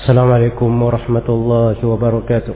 السلام عليكم ورحمة الله وبركاته.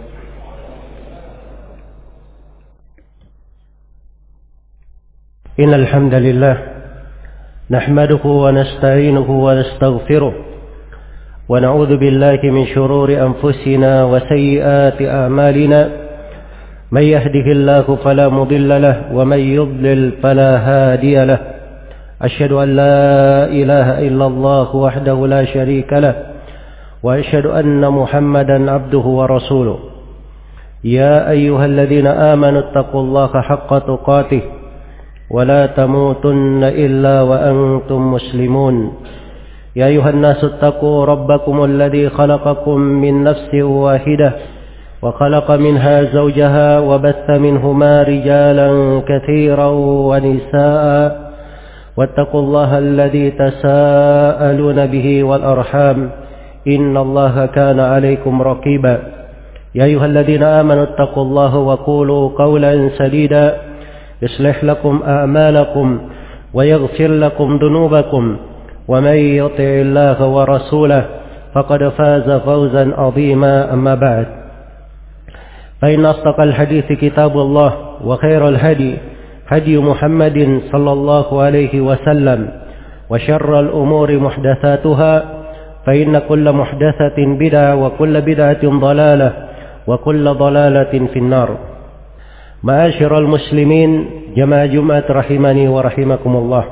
إن الحمد لله نحمده ونستعينه ونستغفره ونعوذ بالله من شرور أنفسنا وسيئات أعمالنا. من يهده الله فلا مضل له ومن يضلل فلا هادي له. أشهد أن لا إله إلا الله وحده لا شريك له وأشهد أن محمدا عبده ورسوله. يا أيها الذين آمنوا اتقوا الله حق تقاته ولا تموتن إلا وأنتم مسلمون. يا أيها الناس اتقوا ربكم الذي خلقكم من نفس واحدة وخلق منها زوجها وبث منهما رجالا كثيرا ونساء واتقوا الله الذي تساءلون به والأرحام إن الله كان عليكم رقيبا. يا أيها الذين آمنوا اتقوا الله وقولوا قولا سديدا يصلح لكم أعمالكم ويغفر لكم ذنوبكم ومن يطع الله ورسوله فقد فاز فوزا عظيما. أما بعد فإن أصدق الحديث كتاب الله وخير الهدي هدي محمد صلى الله عليه وسلم وشر الأمور محدثاتها فإن كل محدثة بدعة وكل بدعة ضلالة وكل ضلالة في النار. معاشر المسلمين jamaah Jumat rahimani wa rahimakumullah.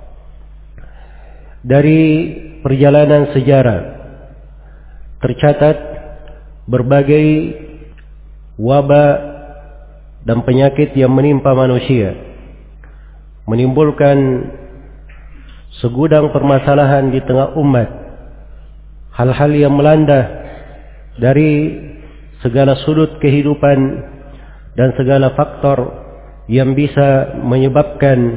Dari perjalanan sejarah tercatat berbagai wabah dan penyakit yang menimpa manusia, menimbulkan segudang permasalahan di tengah umat. Hal-hal yang melanda dari segala sudut kehidupan dan segala faktor yang bisa menyebabkan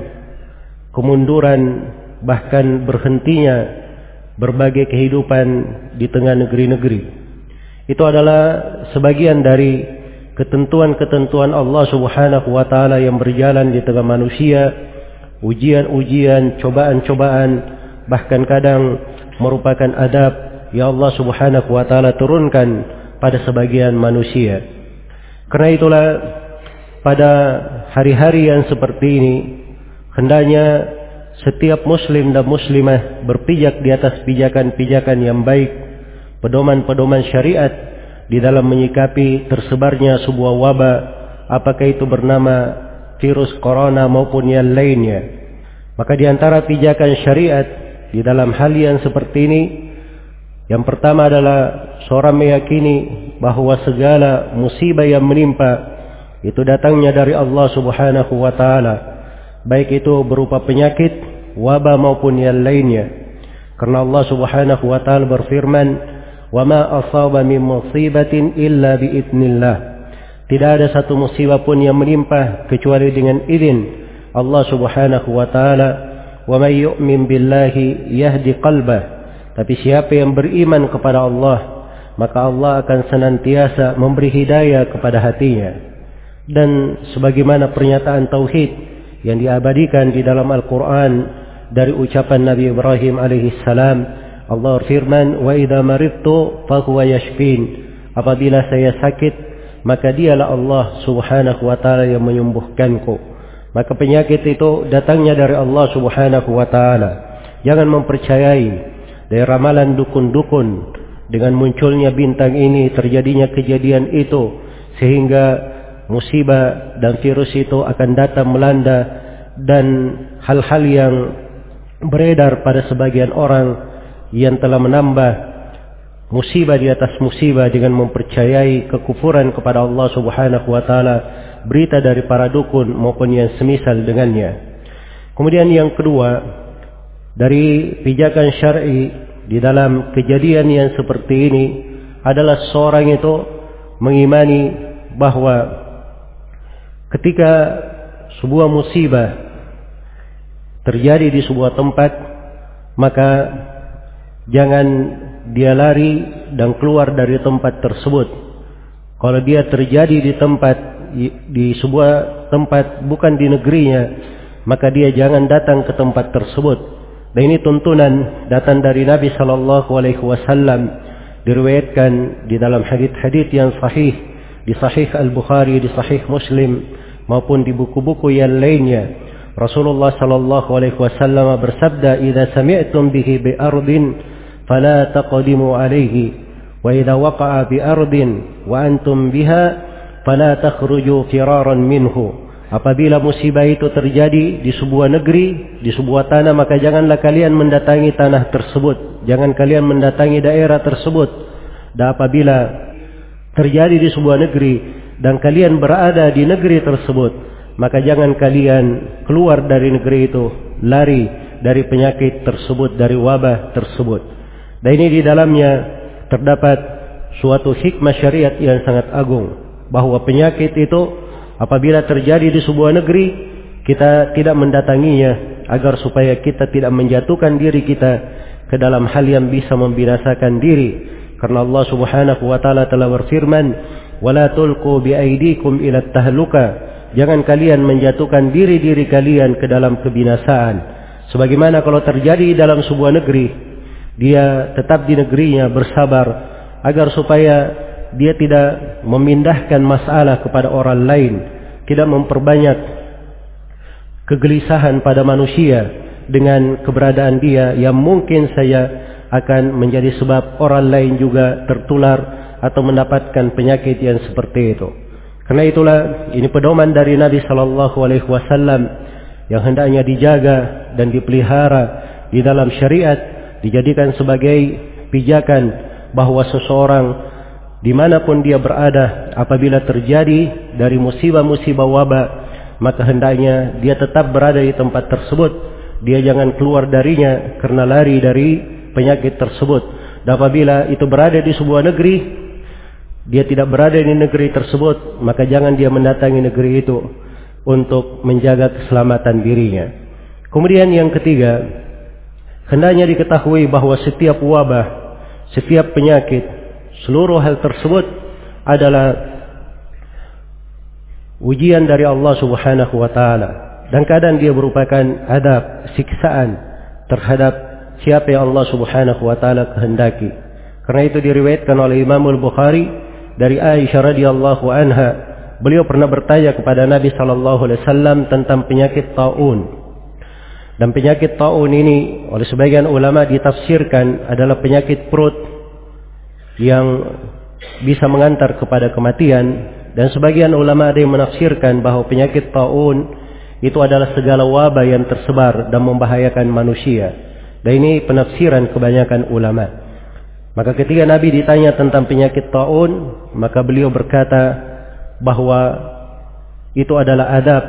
kemunduran bahkan berhentinya berbagai kehidupan di tengah negeri-negeri. Itu adalah sebagian dari ketentuan-ketentuan Allah Subhanahu wa taala yang berjalan di tengah manusia, ujian-ujian, cobaan-cobaan, bahkan kadang merupakan adab yang Allah Subhanahu wa taala turunkan pada sebagian manusia. Karena itulah pada hari-hari yang seperti ini hendaknya setiap muslim dan muslimah berpijak di atas pijakan-pijakan yang baik, pedoman-pedoman syariat di dalam menyikapi tersebarnya sebuah wabah, apakah itu bernama virus corona maupun yang lainnya. Maka di antara pijakan syariat di dalam hal yang seperti ini, yang pertama adalah seorang meyakini bahwa segala musibah yang menimpa itu datangnya dari Allah Subhanahu wa taala, baik itu berupa penyakit, wabah maupun yang lainnya. Karena Allah Subhanahu wa taala berfirman, "Wa ma asaba min musibatin illa bi idznillah." Tidak ada satu musibah pun yang menimpa kecuali dengan izin Allah Subhanahu wa taala. "Wa may yu'min billahi yahdi qalbah." Tapi siapa yang beriman kepada Allah, maka Allah akan senantiasa memberi hidayah kepada hatinya. Dan sebagaimana pernyataan tauhid yang diabadikan di dalam Al-Quran dari ucapan Nabi Ibrahim alaihissalam, Allah berfirman, "Wa idza maridtu fahuwa yashfin." Apabila saya sakit, maka dialah Allah Subhanahu wa taala yang menyembuhkanku. Maka penyakit itu datangnya dari Allah Subhanahu wa taala. Jangan mempercayai dari ramalan dukun-dukun dengan munculnya bintang ini, terjadinya kejadian itu, sehingga musibah dan virus itu akan datang melanda, dan hal-hal yang beredar pada sebagian orang yang telah menambah musibah di atas musibah dengan mempercayai kekufuran kepada Allah Subhanahu wa taala, berita dari para dukun maupun yang semisal dengannya. Kemudian yang kedua, dari pijakan syar'i di dalam kejadian yang seperti ini adalah seorang itu mengimani bahwa ketika sebuah musibah terjadi di sebuah tempat, maka jangan dia lari dan keluar dari tempat tersebut. Kalau dia terjadi di sebuah tempat bukan di negerinya, maka dia jangan datang ke tempat tersebut. Dan ini tuntunan datang dari Nabi sallallahu alaihi wasallam diriwayatkan di dalam hadits-hadits yang sahih, di Sahih Al-Bukhari, di Sahih Muslim maupun di buku-buku yang lainnya. Rasulullah sallallahu alaihi wasallam bersabda, "Idza sami'tum bihi bi ardin fala taqdimu alaihi, wa idza waqa'a bi ardin wa antum biha fala takhruju firaran minhu." Apabila musibah itu terjadi di sebuah negeri, di sebuah tanah, maka janganlah kalian mendatangi tanah tersebut. Jangan kalian mendatangi daerah tersebut. Dan apabila terjadi di sebuah negeri dan kalian berada di negeri tersebut, maka jangan kalian keluar dari negeri itu, lari dari penyakit tersebut, dari wabah tersebut. Dan ini di dalamnya terdapat suatu hikmah syariat yang sangat agung, bahwa penyakit itu apabila terjadi di sebuah negeri, kita tidak mendatanginya agar supaya kita tidak menjatuhkan diri kita ke dalam hal yang bisa membinasakan diri. Karena Allah Subhanahu wa taala telah berfirman, "Wala tulqu biaidikum ila tahluka." Jangan kalian menjatuhkan diri-diri kalian ke dalam kebinasaan. Sebagaimana kalau terjadi dalam sebuah negeri, dia tetap di negerinya bersabar agar supaya dia tidak memindahkan masalah kepada orang lain, tidak memperbanyak kegelisahan pada manusia dengan keberadaan dia yang mungkin saya akan menjadi sebab orang lain juga tertular atau mendapatkan penyakit yang seperti itu. Karena itulah ini pedoman dari Nabi sallallahu alaihi wasallam yang hendaknya dijaga dan dipelihara di dalam syariat, dijadikan sebagai pijakan bahwa seseorang dimanapun dia berada, apabila terjadi dari musibah-musibah wabah, maka hendaknya dia tetap berada di tempat tersebut. Dia jangan keluar darinya karena lari dari penyakit tersebut. Dan apabila itu berada di sebuah negeri, dia tidak berada di negeri tersebut, maka jangan dia mendatangi negeri itu untuk menjaga keselamatan dirinya. Kemudian yang ketiga, hendaknya diketahui bahwa setiap wabah, setiap penyakit, seluruh hal tersebut adalah ujian dari Allah Subhanahu wa taala, dan kadang dia merupakan adab, siksaan terhadap siapa yang Allah Subhanahu wa taala kehendaki. Karena itu diriwayatkan oleh Imam Al-Bukhari dari Aisyah radhiyallahu anha, beliau pernah bertanya kepada Nabi sallallahu alaihi wasallam tentang penyakit taun. Dan penyakit taun ini oleh sebagian ulama ditafsirkan adalah penyakit perut yang bisa mengantar kepada kematian, dan sebagian ulama ada yang menafsirkan bahwa penyakit taun itu adalah segala wabah yang tersebar dan membahayakan manusia. Dan ini penafsiran kebanyakan ulama. Maka ketika Nabi ditanya tentang penyakit taun, maka beliau berkata bahwa itu adalah adab.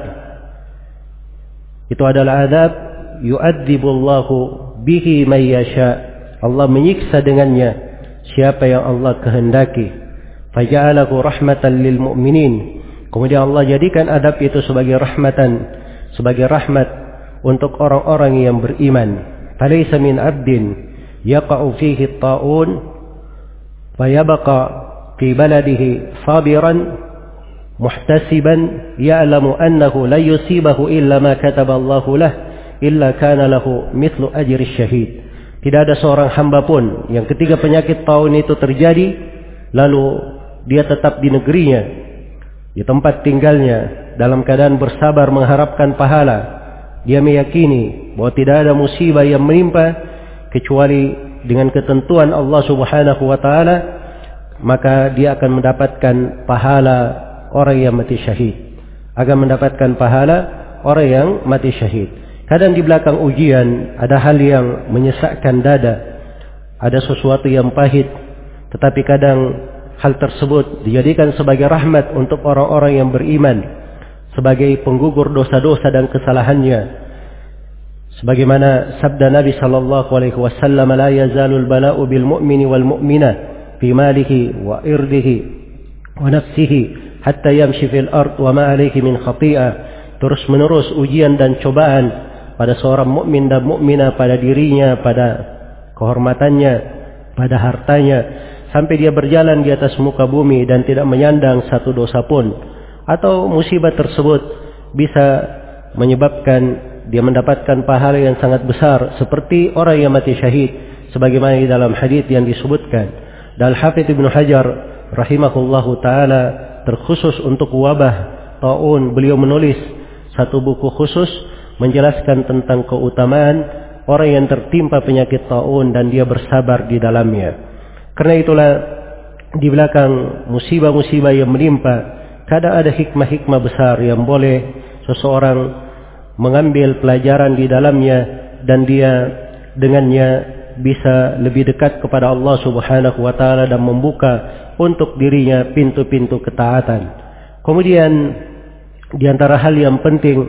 Itu adalah adab yu'adzibullahu bihi may yasha. Allah menyiksa dengannya siapa yang Allah kehendaki. Faja'alahu rahmatan lil mu'minin. Kemudian Allah jadikan adab itu sebagai rahmatan, sebagai rahmat untuk orang-orang yang beriman. Falaysa min 'abdin yaqa'u fihi at-ta'un fayabqa fi baladihi sabiran muhtasiban ya'lamu annahu la yusibahu illa ma kataba Allahu lah illa kana lahu mithlu ajri syahid. Tidak ada seorang hamba pun yang ketika penyakit taun itu terjadi, lalu dia tetap di negerinya, di tempat tinggalnya, dalam keadaan bersabar mengharapkan pahala. Dia meyakini bahwa tidak ada musibah yang menimpa kecuali dengan ketentuan Allah Subhanahu wa taala, maka dia akan mendapatkan pahala orang yang mati syahid. Akan mendapatkan pahala orang yang mati syahid. Kadang di belakang ujian ada hal yang menyesakkan dada, ada sesuatu yang pahit, tetapi kadang hal tersebut dijadikan sebagai rahmat untuk orang-orang yang beriman, sebagai penggugur dosa-dosa dan kesalahannya. Sebagaimana sabda Nabi sallallahu alaihi wasallam, "La yazalul bala'u bil mu'mini wal mu'minah fi malihi wa irdihi wa nafsihi hatta yamshi fil ard wa ma alayhi min khati'ah." Terus menerus ujian dan cobaan pada seorang mukmin dan mukminah, pada dirinya, pada kehormatannya, pada hartanya, sampai dia berjalan di atas muka bumi dan tidak menyandang satu dosa pun. Atau musibah tersebut bisa menyebabkan dia mendapatkan pahala yang sangat besar seperti orang yang mati syahid, sebagaimana di dalam hadis yang disebutkan. Dan Hafidz Ibnu Hajar rahimahullahu taala terkhusus untuk wabah taun, beliau menulis satu buku khusus menjelaskan tentang keutamaan orang yang tertimpa penyakit taun dan dia bersabar di dalamnya. Karena itulah di belakang musibah-musibah yang menimpa, kadang ada hikmah-hikmah besar yang boleh seseorang mengambil pelajaran di dalamnya dan dia dengannya bisa lebih dekat kepada Allah Subhanahu wa taala dan membuka untuk dirinya pintu-pintu ketaatan. Kemudian di antara hal yang penting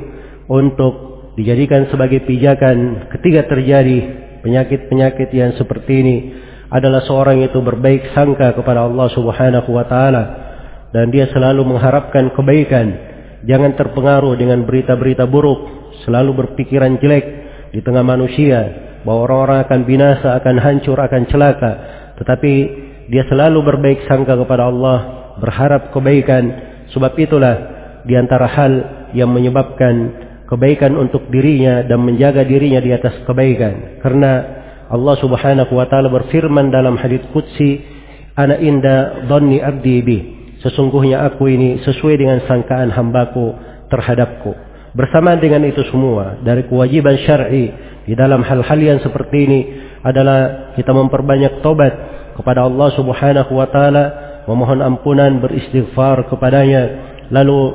untuk dijadikan sebagai pijakan ketika terjadi penyakit-penyakit yang seperti ini adalah seorang itu berbaik sangka kepada Allah Subhanahu wa taala dan dia selalu mengharapkan kebaikan, jangan terpengaruh dengan berita-berita buruk, selalu berpikiran jelek di tengah manusia bahwa orang-orang akan binasa, akan hancur, akan celaka, tetapi dia selalu berbaik sangka kepada Allah, berharap kebaikan. Sebab itulah di antara hal yang menyebabkan kebaikan untuk dirinya dan menjaga dirinya di atas kebaikan. Karena Allah Subhanahu wa taala berfirman dalam hadits qudsi, ana inda dhanni abdi bi, sesungguhnya aku ini sesuai dengan sangkaan hambaku terhadapku. Bersamaan dengan itu semua, dari kewajiban syar'i di dalam hal-hal yang seperti ini adalah kita memperbanyak taubat kepada Allah Subhanahu wa taala, memohon ampunan, beristighfar kepadanya, lalu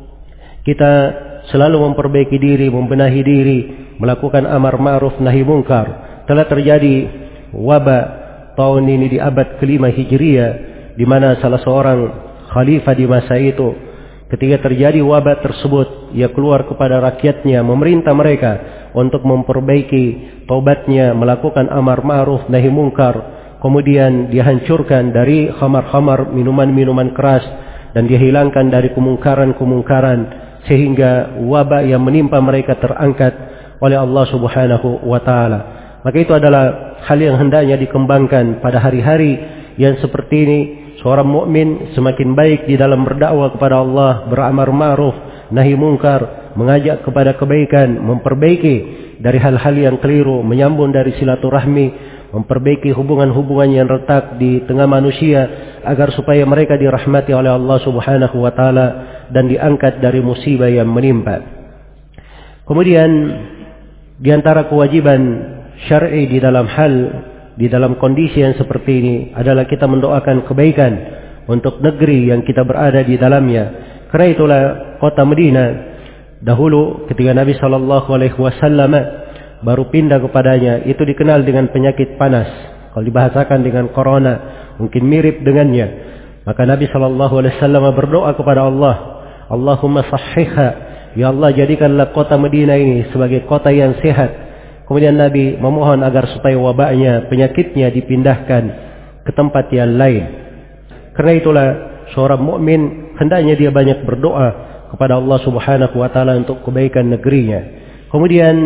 kita selalu memperbaiki diri, membenahi diri, melakukan amar ma'ruf nahi munkar. Telah terjadi wabah tahun ini di abad ke-5 Hijriah, di mana salah seorang khalifah di masa itu, ketika terjadi wabah tersebut, ia keluar kepada rakyatnya, memerintah mereka untuk memperbaiki taubatnya, melakukan amar ma'ruf nahi munkar. Kemudian dihancurkan dari khamar-khamar, minuman-minuman keras, dan dihilangkan dari kemungkaran-kemungkaran, sehingga wabah yang menimpa mereka terangkat oleh Allah Subhanahu wa taala. Maka itu adalah hal yang hendaknya dikembangkan pada hari-hari yang seperti ini. Seorang mukmin semakin baik di dalam berdakwah kepada Allah, beramar ma'ruf nahi munkar, mengajak kepada kebaikan, memperbaiki dari hal-hal yang keliru, menyambung dari silaturahmi, memperbaiki hubungan-hubungan yang retak di tengah manusia agar supaya mereka dirahmati oleh Allah Subhanahu wa taala dan diangkat dari musibah yang menimpa. Kemudian di antara kewajiban syar'i di dalam kondisi yang seperti ini adalah kita mendoakan kebaikan untuk negeri yang kita berada di dalamnya. Karena itulah kota Madinah dahulu ketika Nabi sallallahu alaihi wasallam baru pindah kepadanya, itu dikenal dengan penyakit panas. Kalau dibahasakan dengan corona, mungkin mirip dengannya. Maka Nabi sallallahu alaihi wasallam berdoa kepada Allah, Allahumma sahhihha, ya Allah jadikanlah kota Madinah ini sebagai kota yang sehat. Kemudian Nabi memohon agar supaya wabaknya, penyakitnya dipindahkan ke tempat yang lain. Karena itulah seorang mukmin hendaknya dia banyak berdoa kepada Allah Subhanahu wa taala untuk kebaikan negerinya. Kemudian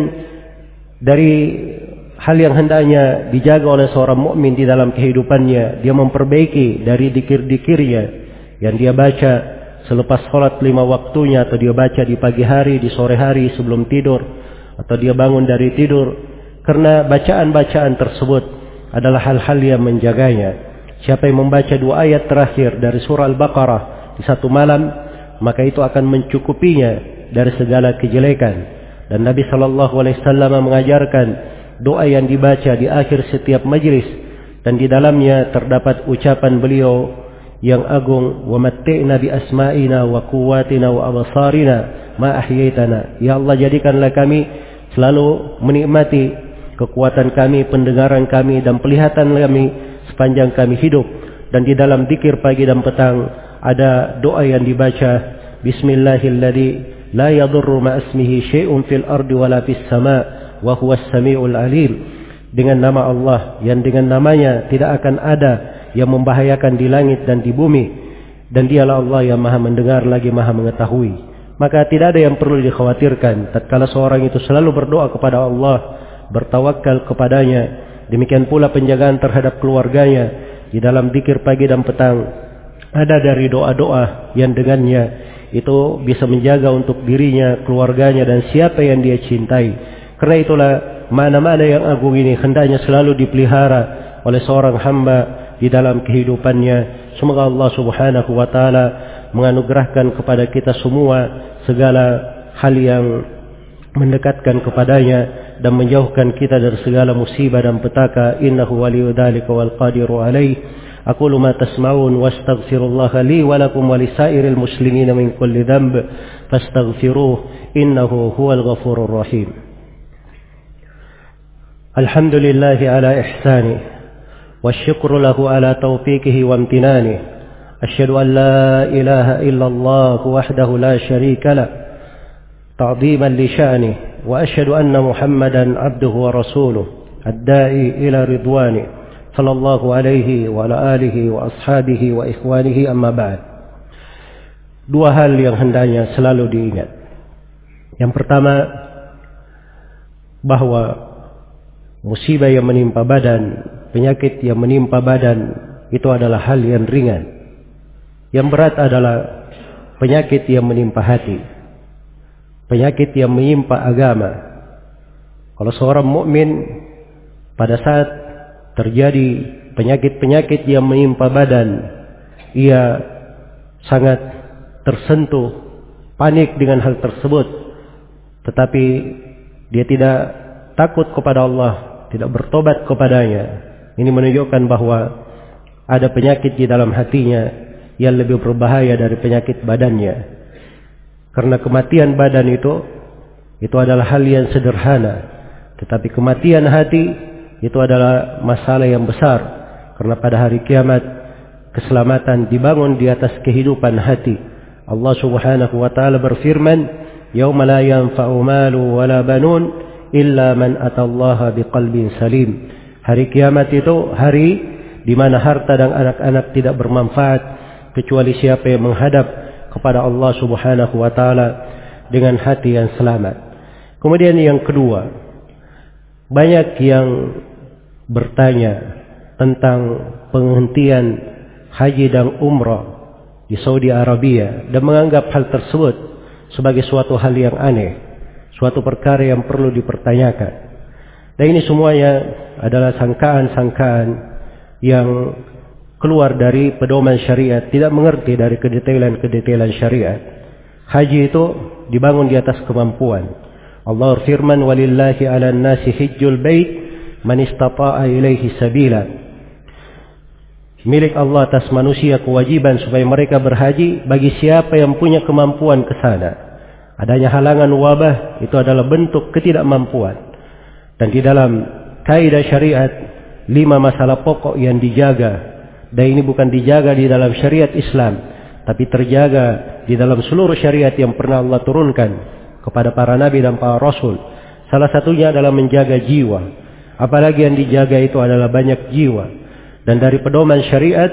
dari hal yang hendaknya dijaga oleh seorang mukmin di dalam kehidupannya, dia memperbaiki dari dikir-dikirnya yang dia baca selepas salat 5 waktunya, atau dia baca di pagi hari, di sore hari sebelum tidur, atau dia bangun dari tidur. Karena bacaan-bacaan tersebut adalah hal-hal yang menjaganya. Siapa yang membaca 2 ayat terakhir dari surah Al-Baqarah di satu malam, maka itu akan mencukupinya dari segala kejelekan. Dan Nabi sallallahu alaihi wasallam mengajarkan doa yang dibaca di akhir setiap majlis, dan di dalamnya terdapat ucapan beliau yang agung, wa matti'na bi asma'ina wa quwwatina wa absarina ma ahyaitana. Ya Allah, jadikanlah kami selalu menikmati kekuatan kami, pendengaran kami, dan penglihatan kami sepanjang kami hidup. Dan di dalam zikir pagi dan petang ada doa yang dibaca, Bismillahilladzi la yadurru ma'asmihi syai'un fil ardi wala fis sama' wa huwas sami'ul alim. Dengan nama Allah yang dengan namanya tidak akan ada yang membahayakan di langit dan di bumi, dan dialah Allah yang maha mendengar lagi maha mengetahui. Maka tidak ada yang perlu dikhawatirkan tatkala seorang itu selalu berdoa kepada Allah, bertawakal kepadanya. Demikian pula penjagaan terhadap keluarganya di dalam zikir pagi dan petang. Ada dari doa-doa yang dengannya itu bisa menjaga untuk dirinya, keluarganya, dan siapa yang dia cintai. Karena itulah mana-mana yang agung ini hendaknya selalu dipelihara oleh seorang hamba di dalam kehidupannya. Semoga Allah Subhanahu wa taala menganugerahkan kepada kita semua segala hal yang mendekatkan kepadanya dan menjauhkan kita dari segala musibah dan petaka. Innahu waliyyu dzalika wal qadiru alaih. Aqulu ma tasma'un wastaghfirullaha li wa lakum wa lisairil muslimina min kulli dhanb fastaghfiruhu innahu huwal ghafurur rahim. Alhamdulillahi ala ihsanihi wasyukru lahu ala taufiqihi wa amtinanihi. Asyhadu an la ilaha illallah wahdahu la syarika lah تعظيما لشأنه وأشهد أن محمدا عبده ورسوله الداعي إلى رضوانه صلى الله عليه وعلى آله وأصحابه وإخوانه أما بعد. Dua hal yang hendaknya selalu diingat. Yang pertama, bahwa musibah yang menimpa badan, penyakit yang menimpa badan itu adalah hal yang ringan. Yang berat adalah penyakit yang menimpa hati, penyakit yang menimpa agama. Kalau seorang mukmin pada saat terjadi penyakit-penyakit yang menimpa badan, ia sangat tersentuh, panik dengan hal tersebut. Tetapi dia tidak takut kepada Allah, tidak bertobat kepadanya. Ini menunjukkan bahwa ada penyakit di dalam hatinya yang lebih berbahaya dari penyakit badannya. Karena kematian badan itu adalah hal yang sederhana, tetapi kematian hati itu adalah masalah yang besar. Karena pada hari kiamat keselamatan dibangun di atas kehidupan hati. Allah Subhanahu wa taala berfirman, "Yauma la yanfa'u malu wala banun illa man atallaha biqalbin salim." Hari kiamat itu hari di mana harta dan anak-anak tidak bermanfaat kecuali siapa yang menghadap kepada Allah Subhanahu wa taala dengan hati yang selamat. Kemudian yang kedua, banyak yang bertanya tentang penghentian haji dan umrah di Saudi Arabia dan menganggap hal tersebut sebagai suatu hal yang aneh, suatu perkara yang perlu dipertanyakan. Dan ini semuanya adalah sangkaan-sangkaan yang keluar dari pedoman syariat, tidak mengerti dari kedetailan-kedetailan syariat. Haji itu dibangun di atas kemampuan. Allah firman, "Walillahi 'alan nasi hajjul bait man istata'a ilaihi sabila." Milik Allah atas manusia kewajiban supaya mereka berhaji bagi siapa yang punya kemampuan ke sana. Adanya halangan wabah itu adalah bentuk ketidakmampuan. Dan di dalam kaidah syariat 5 masalah pokok yang dijaga. Dan ini bukan dijaga di dalam syariat Islam, tapi terjaga di dalam seluruh syariat yang pernah Allah turunkan kepada para nabi dan para rasul. Salah satunya adalah menjaga jiwa. Apalagi yang dijaga itu adalah banyak jiwa. Dan dari pedoman syariat,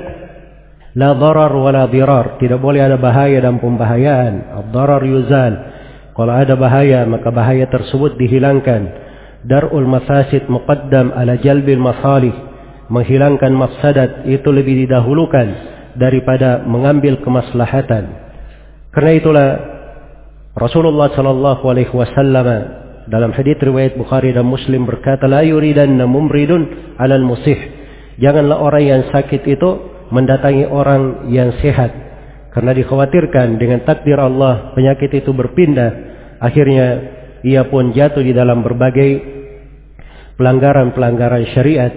la darar wa la dirar. Tidak boleh ada bahaya dan pembahayaan. Ad-darar yuzal. Kalau ada bahaya, maka bahaya tersebut dihilangkan. Dar'ul mafasid muqaddam ala jalbil masalih. Menghilangkan mafsadat itu lebih didahulukan daripada mengambil kemaslahatan. Karena itulah Rasulullah sallallahu alaihi wasallam dalam hadits riwayat Bukhari dan Muslim berkata, "La yuridanna mumridun 'alal musih." Janganlah orang yang sakit itu mendatangi orang yang sehat, karena dikhawatirkan dengan takdir Allah penyakit itu berpindah, akhirnya ia pun jatuh di dalam berbagai pelanggaran-pelanggaran syariat,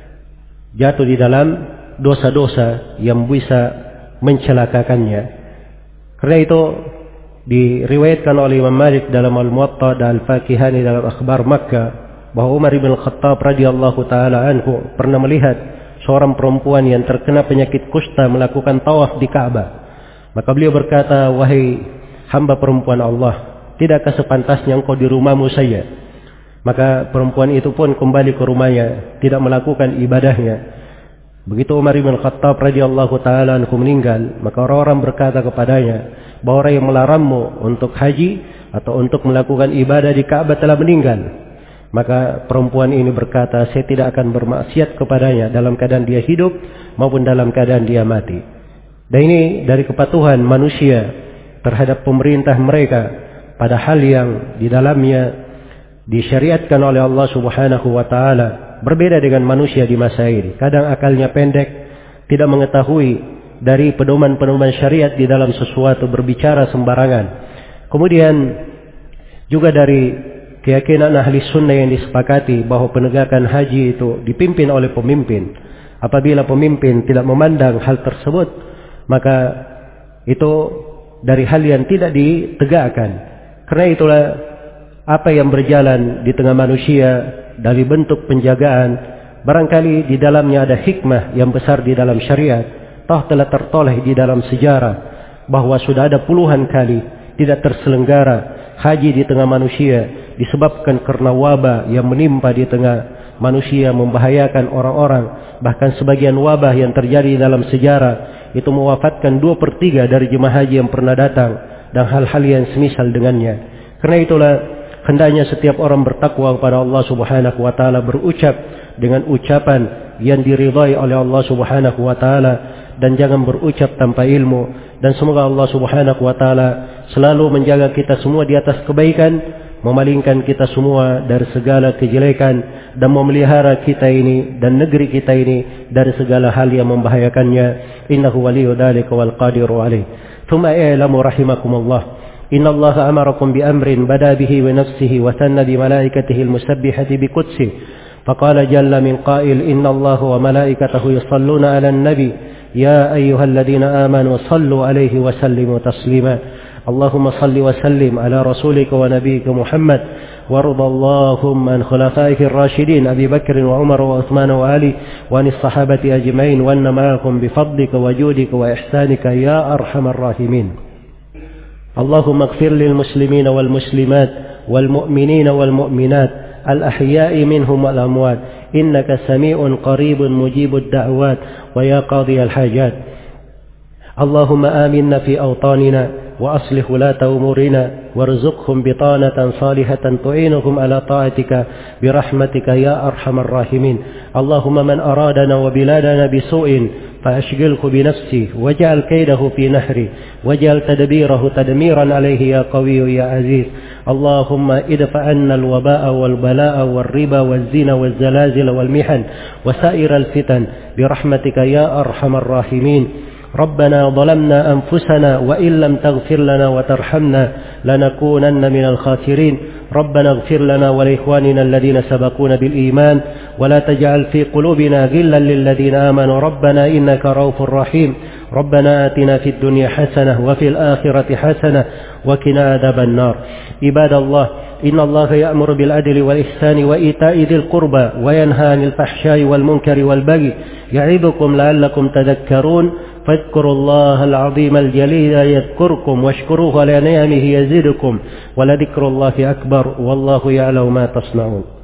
jatuh di dalam dosa-dosa yang bisa mencelakakannya. Karena itu diriwayatkan oleh Imam Malik dalam Al-Muwatta dan Al-Fakihani dalam Akhbar Makkah bahwa Umar bin Khattab radhiyallahu taala anhu pernah melihat seorang perempuan yang terkena penyakit kusta melakukan tawaf di Ka'bah. Maka beliau berkata, "Wahai hamba perempuan Allah, tidakkah sepantasnya engkau di rumahmu saja?" Maka perempuan itu pun kembali ke rumahnya, tidak melakukan ibadahnya. Begitu Umar bin Khattab radhiyallahu taala anhu meninggal, maka orang-orang berkata kepadanya bahwa orang yang melarangmu untuk haji atau untuk melakukan ibadah di Ka'bah telah meninggal. Maka perempuan ini berkata, "Saya tidak akan bermaksiat kepadanya dalam keadaan dia hidup maupun dalam keadaan dia mati." Dan ini dari kepatuhan manusia terhadap pemerintah mereka pada hal yang di dalamnya disyariatkan oleh Allah Subhanahu wa taala. Berbeda dengan manusia di masa ini. Kadang akalnya pendek, tidak mengetahui dari pedoman-pedoman syariat di dalam sesuatu, berbicara sembarangan. Kemudian juga dari keyakinan ahli sunnah yang disepakati bahwa penegakan haji itu dipimpin oleh pemimpin. Apabila pemimpin tidak memandang hal tersebut, maka itu dari hal yang tidak ditegakkan. Karena itulah apa yang berjalan di tengah manusia dari bentuk penjagaan, barangkali di dalamnya ada hikmah yang besar di dalam syariat. Toh telah tertoleh di dalam sejarah bahwa sudah ada puluhan kali tidak terselenggara haji di tengah manusia disebabkan karena wabah yang menimpa di tengah manusia, membahayakan orang-orang. Bahkan sebagian wabah yang terjadi dalam sejarah itu mewafatkan 2/3 dari jemaah haji yang pernah datang, dan hal-hal yang semisal dengannya. Karena itulah hendaknya setiap orang bertakwa kepada Allah Subhanahu wa taala, berucap dengan ucapan yang diridhai oleh Allah Subhanahu wa taala, dan jangan berucap tanpa ilmu. Dan semoga Allah Subhanahu wa taala selalu menjaga kita semua di atas kebaikan, memalingkan kita semua dari segala kejelekan, dan memelihara kita ini dan negeri kita ini dari segala hal yang membahayakannya. Innahu waliyyu dzalika wal qadiru alaih. Tsumma i'lamu rahimakumullah, inna Allah amarakum bi amrin bada bihi wa nafsihi wa thanna bi malaikatihi al-musabbihati bi qudsihi. Faqala jalla min qail, inna Allah wa malaikatahu yusalluna 'alan nabi ya ayyuhalladhina amanu sallu 'alaihi wa sallimu taslima. اللهم صل وسلم على رسولك ونبيك محمد وارض اللهم عن خلفائك الراشدين أبي بكر وعمر وعثمان وعلي وعن الصحابة أجمعين وأن معكم بفضلك وجودك وإحسانك يا أرحم الراحمين. اللهم اغفر للمسلمين والمسلمات والمؤمنين والمؤمنات الأحياء منهم والأموات إنك سميع قريب مجيب الدعوات ويا قاضي الحاجات. اللهم آمنا في أوطاننا وأصلح ولاة أمورنا وارزقهم بطانة صالحة تعينهم على طاعتك برحمتك يا أرحم الراحمين. اللهم من أرادنا وبلادنا بسوء فأشغله بنفسه واجعل كيده في نحره واجعل تدبيره تدميرا عليه يا قوي يا عزيز. اللهم ادفع عنا الوباء والبلاء والربا والزنا والزلازل والمحن وسائر الفتن برحمتك يا أرحم الراحمين. ربنا ظلمنا أنفسنا وإن لم تغفر لنا وترحمنا لنكونن من الخاسرين. ربنا اغفر لنا ولإخواننا الذين سبقونا بالإيمان ولا تجعل في قلوبنا غلا للذين آمنوا ربنا إنك رؤوف رحيم. ربنا آتنا في الدنيا حسنة وفي الآخرة حسنة وقنا عذاب النار. عباد الله، إن الله يأمر بالعدل والإحسان وإيتاء ذي القربى وينهى عن الفحشاء والمنكر والبغي يعظكم لعلكم تذكرون. فاذكروا الله العظيم الجليل يذكركم واشكروه على نعمه يزدكم ولذكر الله أكبر والله يعلم ما تصنعون.